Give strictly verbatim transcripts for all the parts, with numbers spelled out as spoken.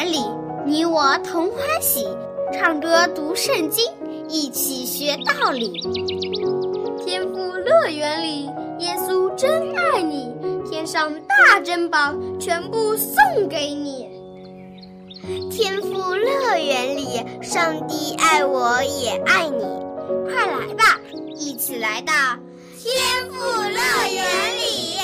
园里，你我同欢喜，唱歌读圣经，一起学道理。天父乐园里，耶稣真爱你，天上大珍宝全部送给你。 天父乐园里，上帝爱我也爱你， 快来吧，一起来到天父乐园里。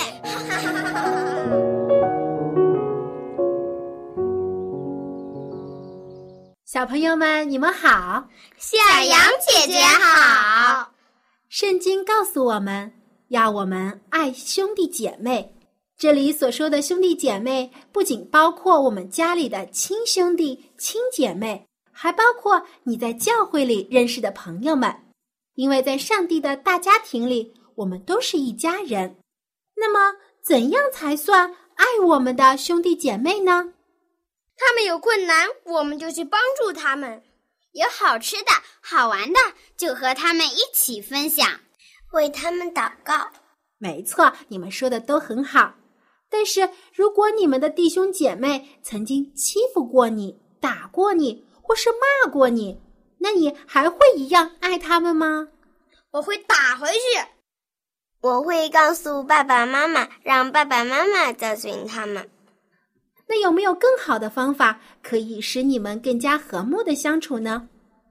小朋友们，你们好， 小羊姐姐好。 圣经告诉我们，要我们爱兄弟姐妹。这里所说的兄弟姐妹，不仅包括我们家里的亲兄弟、亲姐妹，还包括你在教会里认识的朋友们。因为在上帝的大家庭里，我们都是一家人。那么，怎样才算爱我们的兄弟姐妹呢？ 他们有困难，我们就去帮助他们； 有好吃的好玩的，就和他们一起分享，为他们祷告。 没错，你们说的都很好。但是如果你们的弟兄姐妹曾经欺负过你、打过你，或是骂过你，那你还会一样爱他们吗？ 我会打回去。 我会告诉爸爸妈妈，让爸爸妈妈教训他们。 那有没有更好的方法可以使你们更加和睦的相处呢？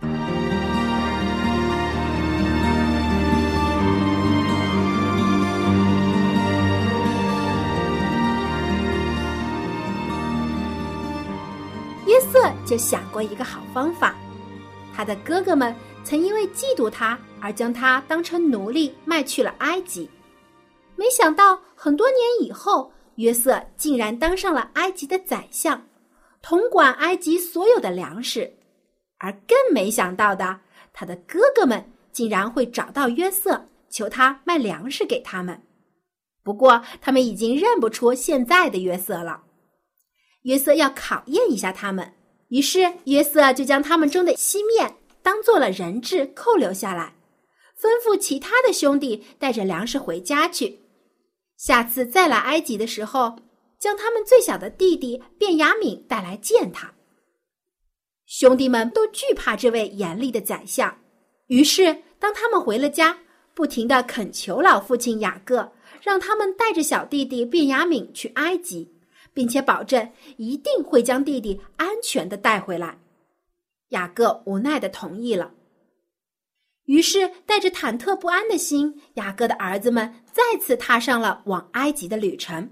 约瑟就想过一个好方法，他的哥哥们曾因为嫉妒他而将他当成奴隶卖去了埃及。没想到很多年以后，约瑟竟然当上了埃及的宰相，统管埃及所有的粮食。而更没想到的，他的哥哥们竟然会找到约瑟，求他卖粮食给他们。不过他们已经认不出现在的约瑟了。约瑟要考验一下他们，于是约瑟就将他们中的西面当做了人质扣留下来，吩咐其他的兄弟带着粮食回家去。下次再来埃及的时候，将他们最小的弟弟便雅悯带来见他。兄弟们都惧怕这位严厉的宰相，于是当他们回了家，不停地恳求老父亲雅各，让他们带着小弟弟便雅悯去埃及，并且保证一定会将弟弟安全地带回来。雅各无奈地同意了。于是带着忐忑不安的心，雅各的儿子们再次踏上了往埃及的旅程。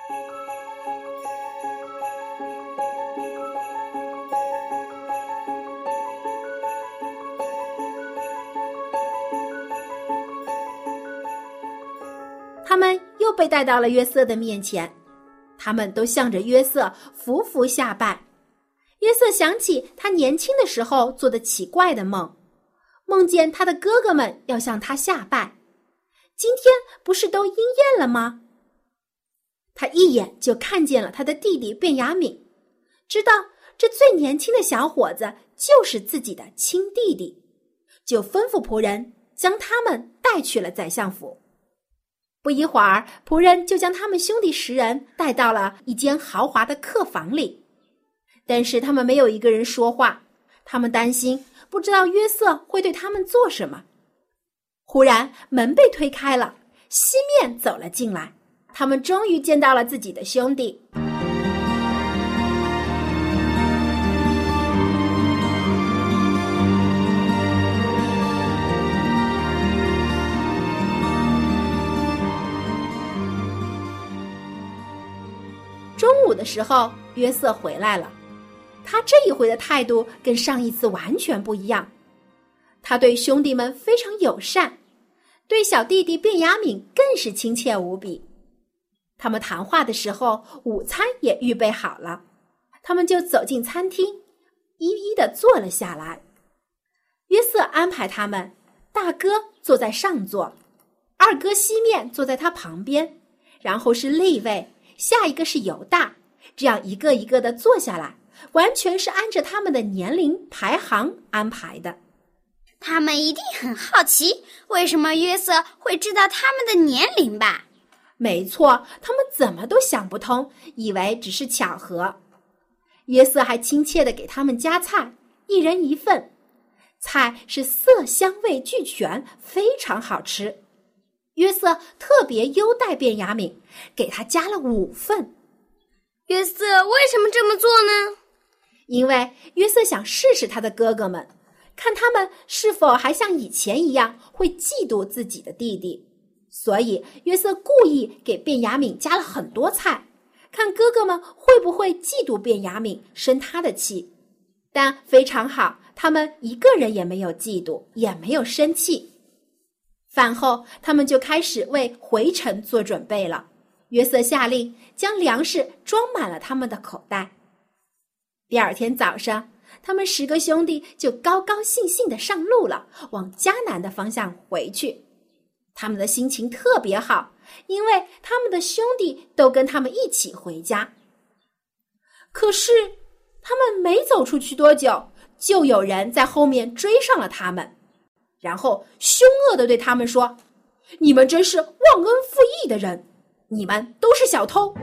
他们又被带到了约瑟的面前，他们都向着约瑟匍匐下拜。约瑟想起他年轻的时候做的奇怪的梦，梦见他的哥哥们要向他下拜，今天不是都应验了吗？他一眼就看见了他的弟弟便雅悯，知道这最年轻的小伙子就是自己的亲弟弟，就吩咐仆人将他们带去了宰相府。不一会儿，仆人就将他们兄弟十人带到了一间豪华的客房里，但是他们没有一个人说话，他们担心不知道约瑟会对他们做什么。忽然门被推开了，西面走了进来，他们终于见到了自己的兄弟。中午的时候，约瑟回来了，他这一回的态度跟上一次完全不一样。他对兄弟们非常友善，对小弟弟便雅悯更是亲切无比。他们谈话的时候，午餐也预备好了，他们就走进餐厅，一一地坐了下来。约瑟安排他们，大哥坐在上座，二哥西面坐在他旁边，然后是利未，下一个是犹大，这样一个一个地坐下来，完全是按着他们的年龄排行安排的。 他们一定很好奇，为什么约瑟会知道他们的年龄吧？ 没错，他们怎么都想不通，以为只是巧合。 约瑟还亲切地给他们夹菜，一人一份，菜是色香味俱全，非常好吃。约瑟特别优待便雅悯，给他加了五份。 约瑟为什么这么做呢？ 因为约瑟想试试他的哥哥们，看他们是否还像以前一样会嫉妒自己的弟弟，所以约瑟故意给便雅悯加了很多菜，看哥哥们会不会嫉妒便雅悯，生他的气。但非常好，他们一个人也没有嫉妒，也没有生气。饭后，他们就开始为回程做准备了。约瑟下令将粮食装满了他们的口袋。第二天早上，他们十个兄弟就高高兴兴地上路了，往迦南的方向回去。他们的心情特别好，因为他们的兄弟都跟他们一起回家。可是他们没走出去多久，就有人在后面追上了他们，然后凶恶地对他们说：你们真是忘恩负义的人，你们都是小偷。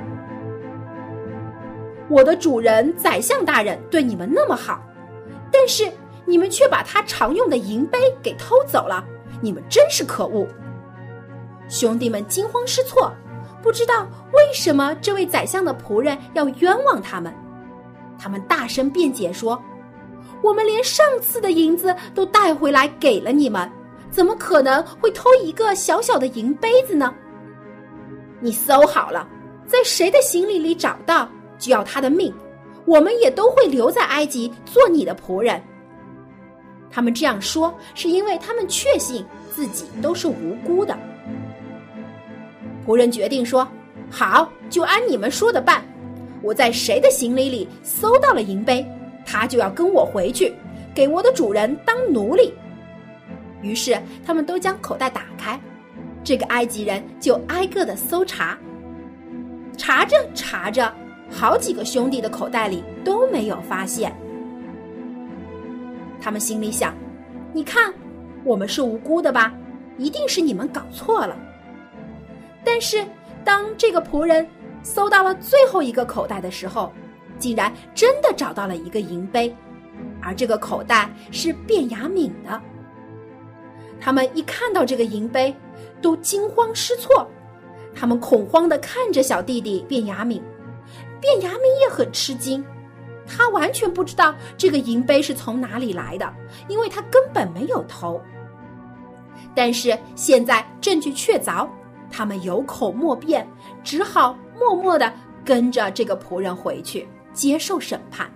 我的主人宰相大人对你们那么好，但是你们却把他常用的银杯给偷走了，你们真是可恶。兄弟们惊慌失措，不知道为什么这位宰相的仆人要冤枉他们。他们大声辩解说：我们连上次的银子都带回来给了你们，怎么可能会偷一个小小的银杯子呢？你搜好了，在谁的行李里找到，就要他的命，我们也都会留在埃及做你的仆人。他们这样说，是因为他们确信自己都是无辜的。仆人决定说：好，就按你们说的办。我在谁的行李里搜到了银杯，他就要跟我回去，给我的主人当奴隶。于是他们都将口袋打开，这个埃及人就挨个的搜查。查着查着，好几个兄弟的口袋里都没有发现。他们心里想：你看，我们是无辜的吧？一定是你们搞错了。但是当这个仆人搜到了最后一个口袋的时候，竟然真的找到了一个银杯，而这个口袋是便雅悯的。他们一看到这个银杯，都惊慌失措，他们恐慌地看着小弟弟便雅悯。便雅悯也很吃惊，他完全不知道这个银杯是从哪里来的，因为他根本没有偷。但是现在证据确凿，他们有口莫辩，只好默默地跟着这个仆人回去接受审判。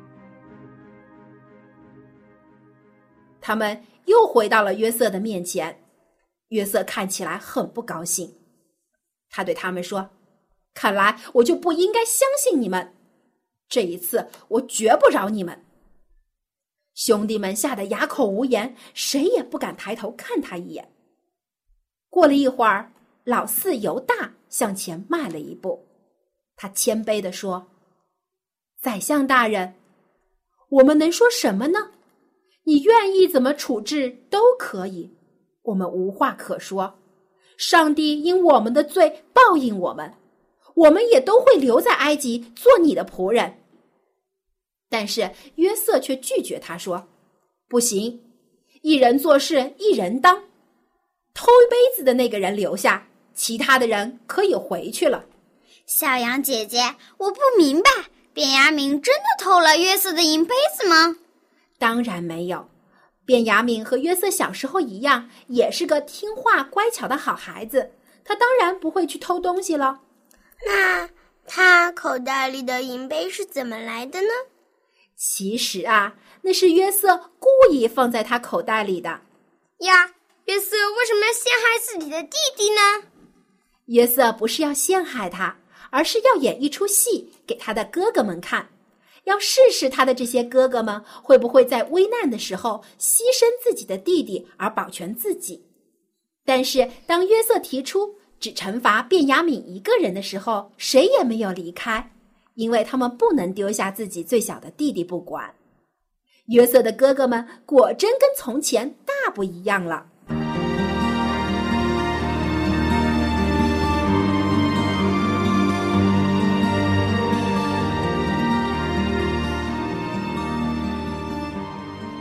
他们又回到了约瑟的面前，约瑟看起来很不高兴。他对他们说：看来我就不应该相信你们，这一次我绝不饶你们。兄弟们吓得哑口无言，谁也不敢抬头看他一眼。过了一会儿，老四犹大向前迈了一步，他谦卑地说：宰相大人，我们能说什么呢？你愿意怎么处置都可以，我们无话可说。上帝因我们的罪报应我们，我们也都会留在埃及做你的仆人。但是约瑟却拒绝他说：不行，一人做事一人当，偷杯子的那个人留下，其他的人可以回去了。 小羊姐姐，我不明白，便雅悯真的偷了约瑟的银杯子吗？ 当然没有，便雅悯和约瑟小时候一样，也是个听话乖巧的好孩子，他当然不会去偷东西了。 那他口袋里的银杯是怎么来的呢？ 其实啊，那是约瑟故意放在他口袋里的。 呀，约瑟为什么要陷害自己的弟弟呢？ 约瑟不是要陷害他，而是要演一出戏给他的哥哥们看，要试试他的这些哥哥们会不会在危难的时候牺牲自己的弟弟而保全自己。但是当约瑟提出只惩罚便雅悯一个人的时候，谁也没有离开，因为他们不能丢下自己最小的弟弟不管。约瑟的哥哥们果真跟从前大不一样了。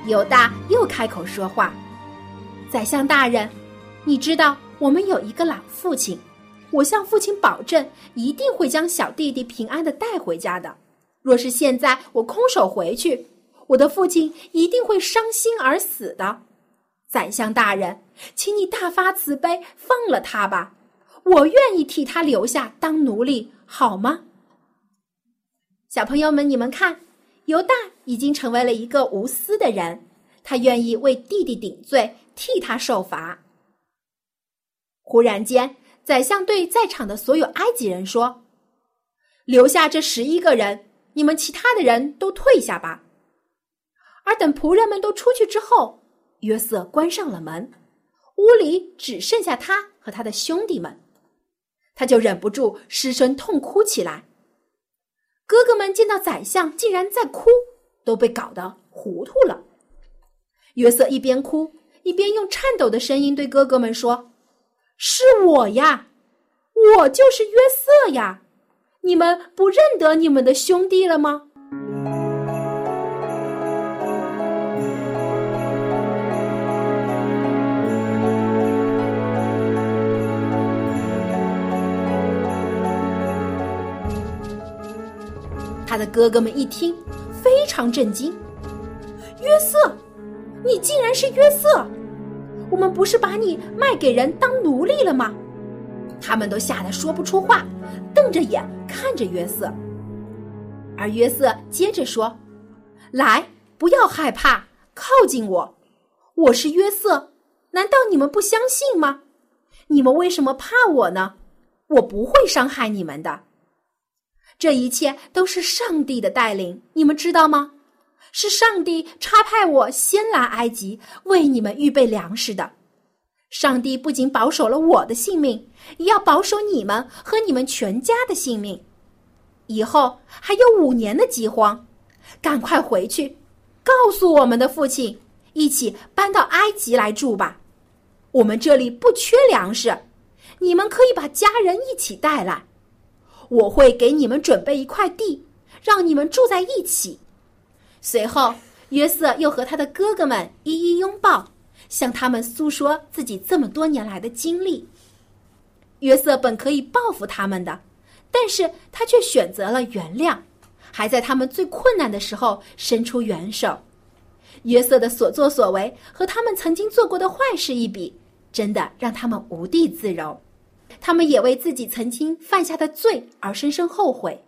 犹大又开口说话：宰相大人，你知道我们有一个老父亲，我向父亲保证一定会将小弟弟平安地带回家的。若是现在我空手回去，我的父亲一定会伤心而死的。宰相大人，请你大发慈悲，放了他吧，我愿意替他留下当奴隶，好吗？小朋友们，你们看，犹大已经成为了一个无私的人，他愿意为弟弟顶罪，替他受罚。忽然间，宰相对在场的所有埃及人说：留下这十一个人，你们其他的人都退下吧。而等仆人们都出去之后，约瑟关上了门，屋里只剩下他和他的兄弟们，他就忍不住失声痛哭起来。哥哥们见到宰相竟然在哭，都被搞得糊涂了。约瑟一边哭，一边用颤抖的声音对哥哥们说：是我呀，我就是约瑟呀，你们不认得你们的兄弟了吗？他的哥哥们一听，非常震惊。约瑟，你竟然是约瑟！我们不是把你卖给人当奴隶了吗？他们都吓得说不出话，瞪着眼看着约瑟。而约瑟接着说：来，不要害怕，靠近我，我是约瑟，难道你们不相信吗？你们为什么怕我呢？我不会伤害你们的。这一切都是上帝的带领，你们知道吗？是上帝差派我先来埃及，为你们预备粮食的。上帝不仅保守了我的性命，也要保守你们和你们全家的性命。以后还有五年的饥荒，赶快回去，告诉我们的父亲，一起搬到埃及来住吧。我们这里不缺粮食，你们可以把家人一起带来。我会给你们准备一块地，让你们住在一起。随后，约瑟又和他的哥哥们一一拥抱，向他们诉说自己这么多年来的经历。约瑟本可以报复他们的，但是他却选择了原谅，还在他们最困难的时候伸出援手。约瑟的所作所为和他们曾经做过的坏事一比，真的让他们无地自容。他们也为自己曾经犯下的罪而深深后悔。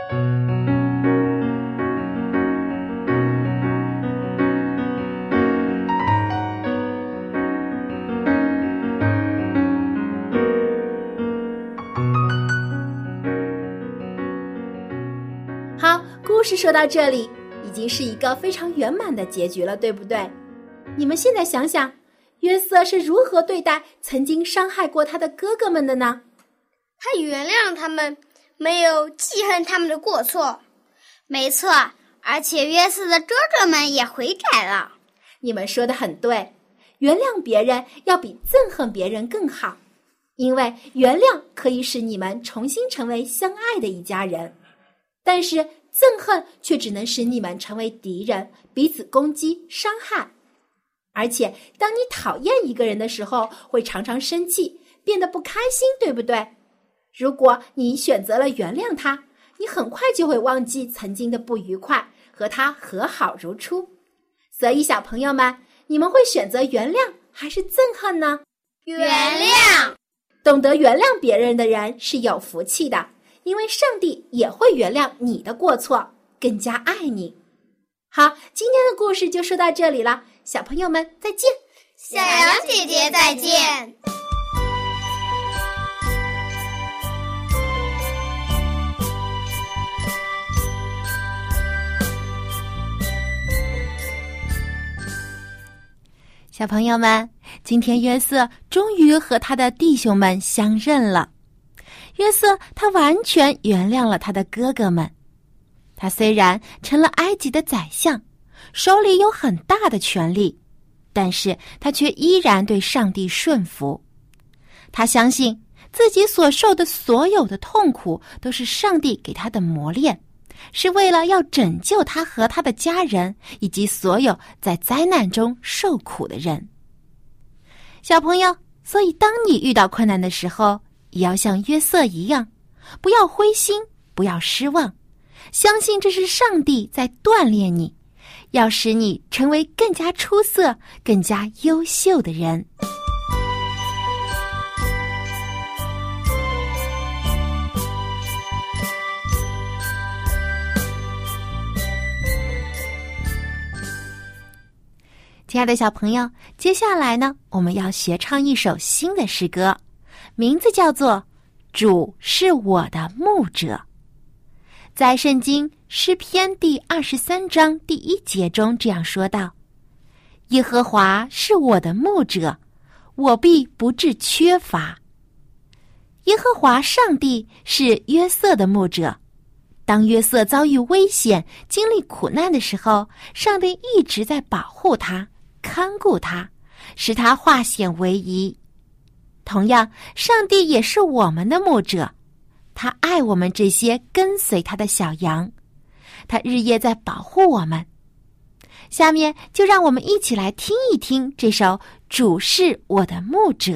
好，故事说到这里，已经是一个非常圆满的结局了，对不对？你们现在想想，约瑟是如何对待曾经伤害过他的哥哥们的呢？ 他原谅他们，没有记恨他们的过错。 没错，而且约瑟的哥哥们也悔改了。 你们说得很对，原谅别人要比憎恨别人更好，因为原谅可以使你们重新成为相爱的一家人，但是憎恨却只能使你们成为敌人，彼此攻击伤害。而且当你讨厌一个人的时候，会常常生气，变得不开心，对不对？如果你选择了原谅他，你很快就会忘记曾经的不愉快，和他和好如初。所以小朋友们，你们会选择原谅还是憎恨呢？ 原谅。 懂得原谅别人的人是有福气的，因为上帝也会原谅你的过错，更加爱你。好，今天的故事就说到这里了，小朋友们再见。 小羊姐姐再见。 小朋友们，今天约瑟终于和他的弟兄们相认了。约瑟他完全原谅了他的哥哥们。他虽然成了埃及的宰相，手里有很大的权力，但是他却依然对上帝顺服。他相信自己所受的所有的痛苦都是上帝给他的磨练， 是为了要拯救他和他的家人，以及所有在灾难中受苦的人。小朋友，所以当你遇到困难的时候，也要像约瑟一样，不要灰心，不要失望，相信这是上帝在锻炼你，要使你成为更加出色、更加优秀的人。亲爱的小朋友，接下来呢，我们要学唱一首新的诗歌，名字叫做《主是我的牧者》。在圣经诗篇第二十三章第一节中这样说道：耶和华是我的牧者，我必不致缺乏。耶和华上帝是约瑟的牧者，当约瑟遭遇危险、经历苦难的时候，上帝一直在保护他、看顾他，使他化险为夷。同样，上帝也是我们的牧者，他爱我们这些跟随他的小羊，他日夜在保护我们。下面就让我们一起来听一听这首《主是我的牧者》。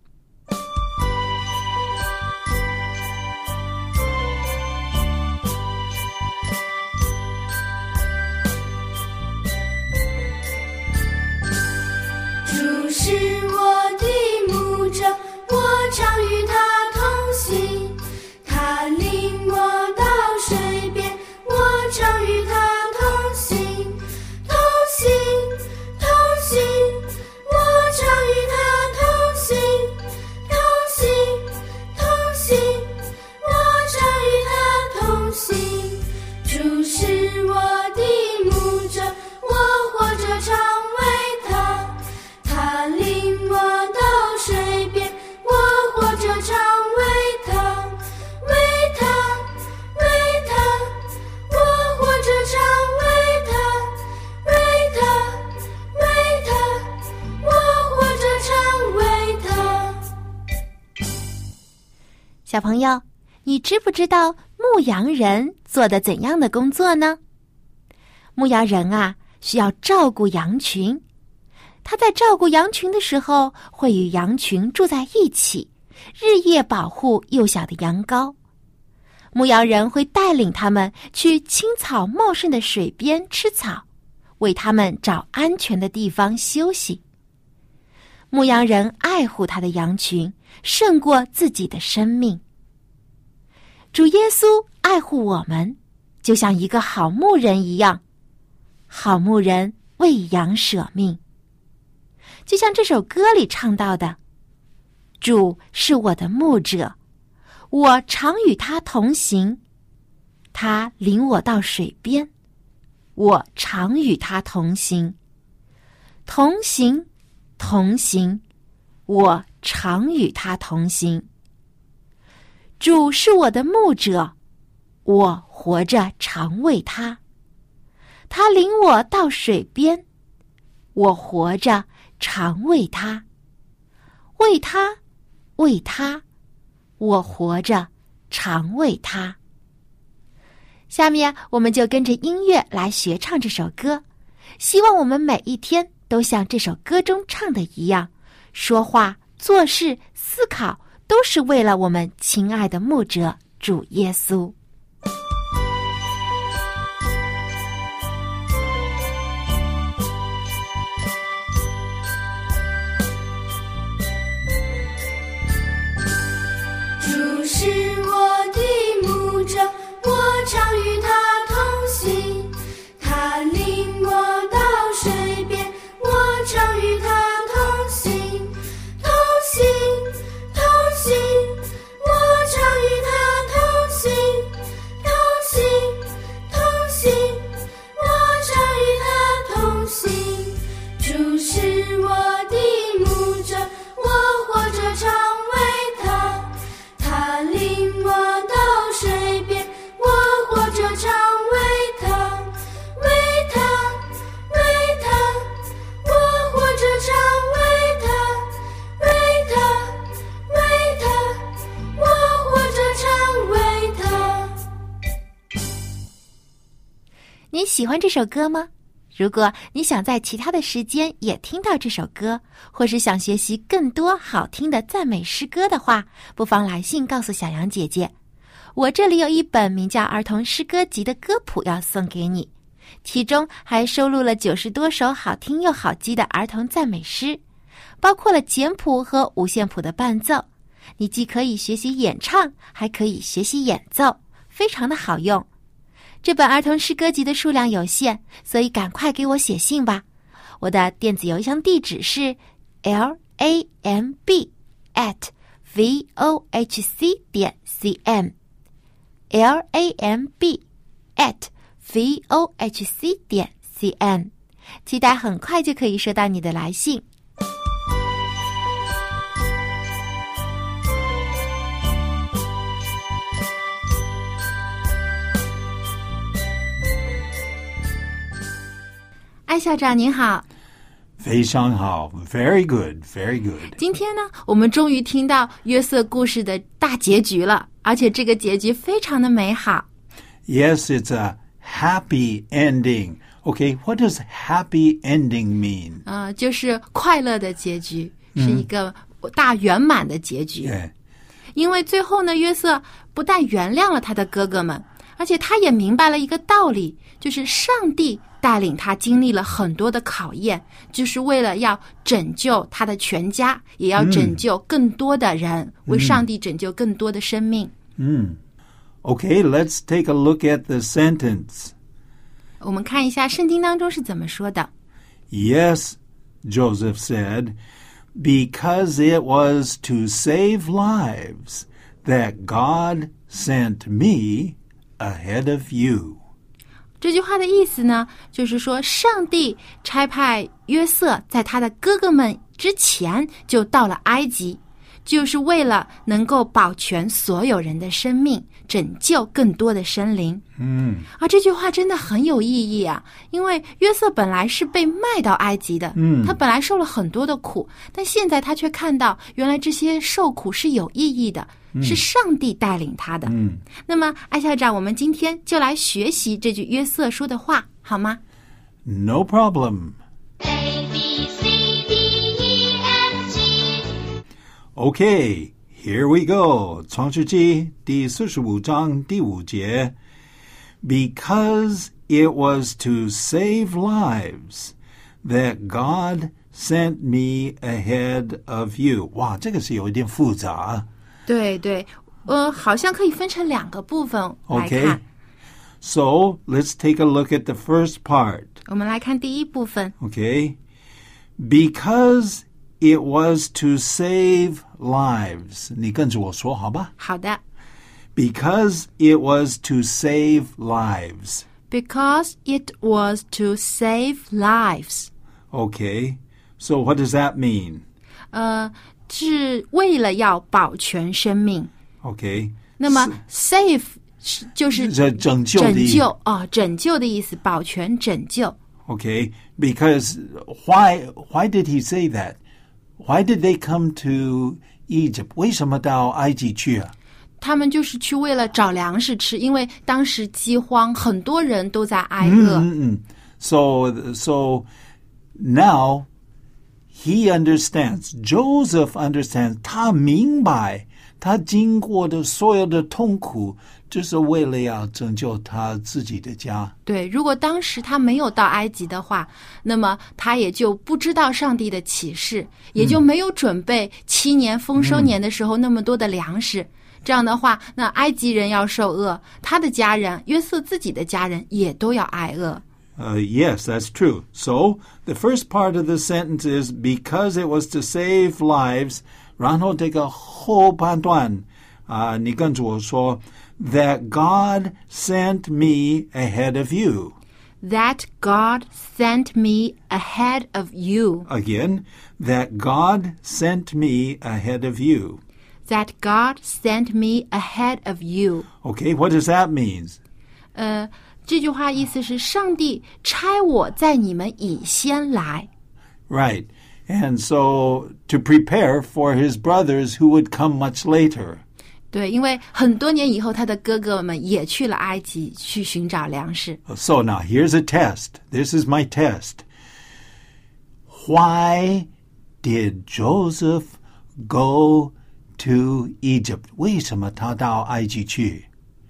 主是我的牧者，我常与他同行，他领我到水边，我常与他同行，同行，同行，我常与他同行，同行，同行，我常与他同行。主是我的牧者，我活着常为他，他领我到水边，我活着常为他，为他，为他，我活着常为他，为他，为他，我活着常为他。 小朋友，你知不知道牧羊人做的怎样的工作呢？牧羊人啊，需要照顾羊群。他在照顾羊群的时候，会与羊群住在一起，日夜保护幼小的羊羔。牧羊人会带领他们去青草茂盛的水边吃草，为他们找安全的地方休息。牧羊人爱护他的羊群，胜过自己的生命。主耶稣爱护我们，就像一个好牧人一样，好牧人为羊舍命。就像这首歌里唱到的，主是我的牧者，我常与他同行，他领我到水边，我常与他同行，同行，同行，我常与他同行。主是我的牧者，我活着常为他，他领我到水边，我活着常为他，为他，为他，我活着常为他。下面我们就跟着音乐来学唱这首歌，希望我们每一天都像这首歌中唱的一样，说话、做事、思考都是为了我们亲爱的牧者主耶稣。 主是我的牧者，我常与他同行，他领我到水边，我常与他同行，同行，同行，我常与他同行， 喜欢这首歌吗？如果你想在其他的时间也听到这首歌，或是想学习更多好听的赞美诗歌的话，不妨来信告诉小羊姐姐。我这里有一本名叫《儿童诗歌集》的歌谱要送给你，其中还收录了九十多首好听又好记的儿童赞美诗，包括了简谱和五线谱的伴奏。你既可以学习演唱，还可以学习演奏，非常的好用。这本儿童诗歌集的数量有限，所以赶快给我写信吧。我的电子邮箱地址是 l a m b at v o h c 点 c m l a m b at v o h c 点 c m， 期待很快就可以收到你的来信。艾校长您好。 非常好 Very good, very good。 今天呢，我们终于听到约瑟故事的大结局了，而且这个结局非常的美好。 Yes, it's a happy ending. Okay, what does happy ending mean? 呃，就是快乐的结局，是一个大圆满的结局。 Yeah. 因为最后呢，约瑟不但原谅了他的哥哥们，而且他也明白了一个道理，就是上帝带领他经历了很多的考验，就是为了要拯救他的全家，也要拯救更多的人，嗯、为上帝拯救更多的生命。 嗯 Okay, let's take a look at the sentence. 我们看一下圣经当中是怎么说的。 Yes, Joseph said, because it was to save lives that God sent me ahead of you. 这句话的意思呢，就是说上帝差派约瑟在他的哥哥们之前就到了埃及，就是为了能够保全所有人的生命，拯救更多的生灵。 嗯， 啊，这句话真的很有意义啊！因为约瑟本来是被卖到埃及的， 嗯， 他本来受了很多的苦，但现在他却看到，原来这些受苦是有意义的，嗯、是上帝带领他的。 嗯， 那么艾校长，我们今天就来学习这句约瑟说的话，好吗？ No problem. A, B, C, D, E, F, G. Okay, here we go. 创世纪第四十五章第五节。Because it was to save lives that God sent me ahead of you. 哇，这个是有一点复杂。 对对，呃，好像可以分成两个部分来看。 Okay, so let's take a look at the first part. 我们来看第一部分。 Okay, because it was to save lives. 你跟着我说好吧？ 好的。 Because it was to save lives. Because it was to save lives. Okay, so what does that mean? 呃，是为了要保全生命。 Okay. 那么 save 就是拯救的意思。 拯救哦，拯救的意思，保全拯救。 Okay, because why why did he say that? Why did they come to Egypt? 为什么到埃及去啊？ 他们就是去为了找粮食吃，因为当时饥荒，很多人都在挨饿。 嗯嗯 So, so now he understands. Joseph understands. 他明白，他经过的所有的痛苦，就是为了要拯救他自己的家。 对，如果当时他没有到埃及的话，那么他也就不知道上帝的启示，也就没有准备七年丰收年的时候那么多的粮食。嗯，这样的话，那埃及人要受饿，他的家人，约瑟自己的家人也都要挨饿。 Uh, yes, that's true. So, the first part of the sentence is because it was to save lives. 然后这个后半段，啊，你跟着我说 that God sent me ahead of you. That God sent me ahead of you. Again, that God sent me ahead of you. That God sent me ahead of you. Okay, what does that mean? 呃，这句话意思是上帝差我在你们以先来。 Right. And so to prepare for his brothers who would come much later. 对，因为很多年以后，他的哥哥们也去了埃及去寻找粮食。 So now here's a test. This is my test. Why did Joseph go to Egypt? 为什么他到埃及去？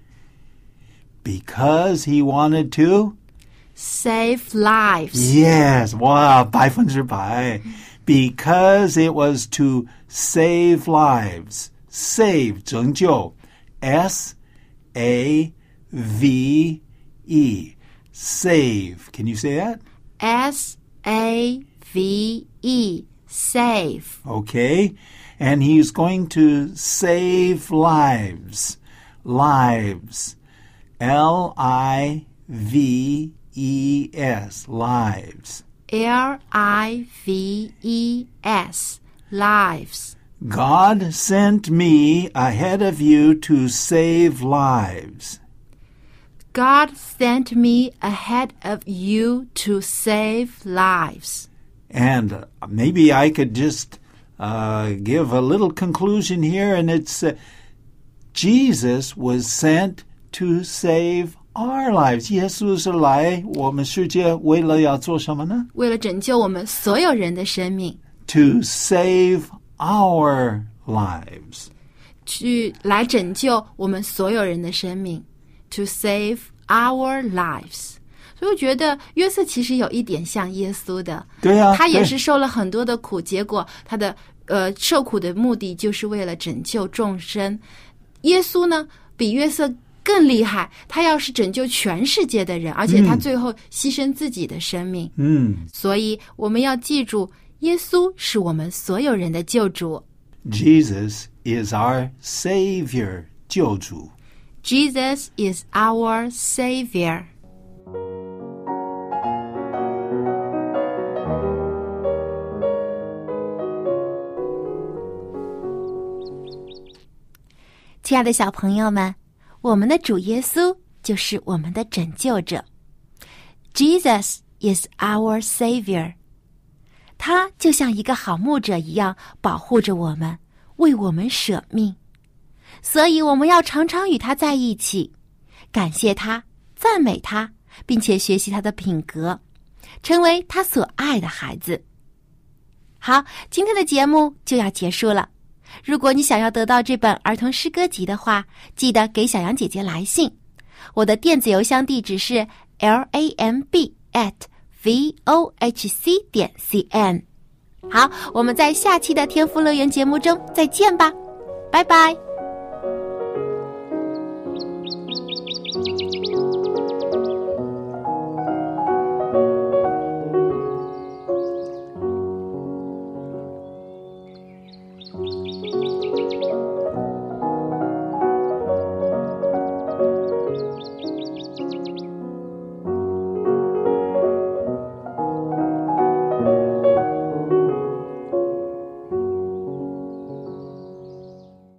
Because he wanted to save lives. Yes, 哇，百分之百。Because it was to save lives. Save, 拯救 S A V E. Save. Can you say that? S A V E. Save. Okay. And he's going to save lives. Lives. L I V E S. Lives. L I V E S. Lives. God sent me ahead of you to save lives. God sent me ahead of you to save lives. And maybe I could just uh, give a little conclusion here, and it's uh, Jesus was sent to save our lives. 耶稣是来我们世界为了要做什么呢？ 为了拯救我们所有人的生命。 To save our lives. 去来拯救我们所有人的生命。To save our lives. 所以我觉得约瑟其实有一点像耶稣的。 对啊， 他也是受了很多的苦，结果他的呃受苦的目的就是为了拯救众生。耶稣呢，比约瑟更厉害，他要是拯救全世界的人，而且他最后牺牲自己的生命。 嗯， 所以我们要记住，耶稣是我们所有人的救主。 Jesus is our Savior, 救主。 Jesus is our Savior. 亲爱的小朋友们，我们的主耶稣就是我们的拯救者。Jesus is our Savior. 他就像一个好牧者一样保护着我们，为我们舍命。所以我们要常常与他在一起，感谢他，赞美他，并且学习他的品格，成为他所爱的孩子。好，今天的节目就要结束了。如果你想要得到这本儿童诗歌集的话，记得给小羊姐姐来信。我的电子邮箱地址是 l a m b at v o h c 点 c n。好，我们在下期的天赋乐园节目中再见吧，拜拜。